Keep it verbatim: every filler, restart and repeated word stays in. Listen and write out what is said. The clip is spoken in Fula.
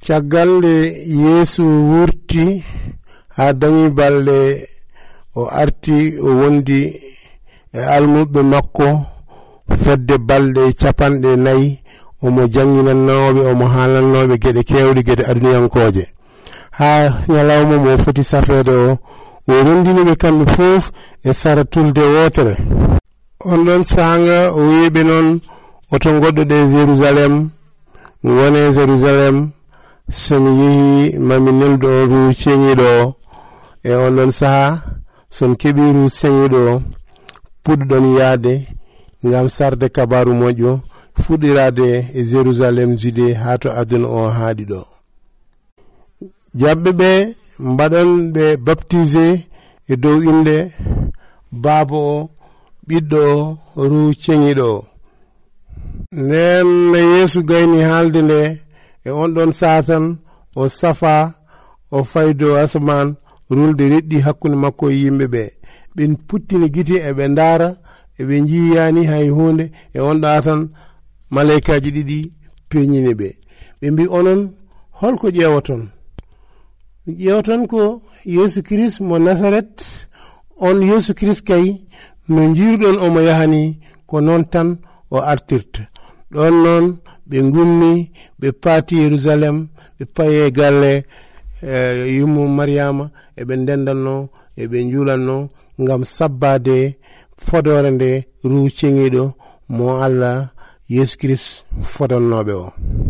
caggal nde Yeesu wurti ha dañi balɗe o arti o wondi e almuɓe makko fedde balɗe capanɗe nayi omo janginannoɓe omo haalannoɓe geɗe kewɗe geɗe aduniyankoje ha ñalawma mo foti safede o o rondiniɓe kamɓe fof e sara tulde wotere. On ɗon sanga o wiɓe noon oto goɗɗo ɗe Jérusalem wone Jérusalem somi yeehi mami neldo ru ceñiɗo e on ɗon saha son keɓi ru ceñiɗo puɗɗon yaade ngam sarde kabaru moƴƴo fuɗirade e Jérusalem Judée ha to aduna o haaɗi ɗo. Jaɓɓe ɓe mbaɗon ɓe baptisé e dow inde baaba o ɓiɗɗo o ru ceñiɗo o. Nden Yeesu gayni haalde nde e on ɗon satan o safa o faydo asaman rulde reɗɗi hakkunde makko e yimɓe ɓe ɓen puttini gite e ɓe ndaara e ɓe jiyani hay hunde e on ɗa tan malaikaji ɗiɗi peñini ɓe ɓe mbi onon holko ƴeewaton ƴeewaton ko Yeesu Christ mo Nasaret on Yeesu Christ kay no jiruɗon omo yahani ko noon tan o artirta ɗon noon ɓe gummi ɓe paati Yerusalem ɓe paye galle e yummu Mariama e ɓe ndendanno e ɓe juulanno ngam sabbade fodore nde ru ceŋiɗo mo Allah Yeesu Christ fodonnoɓe o.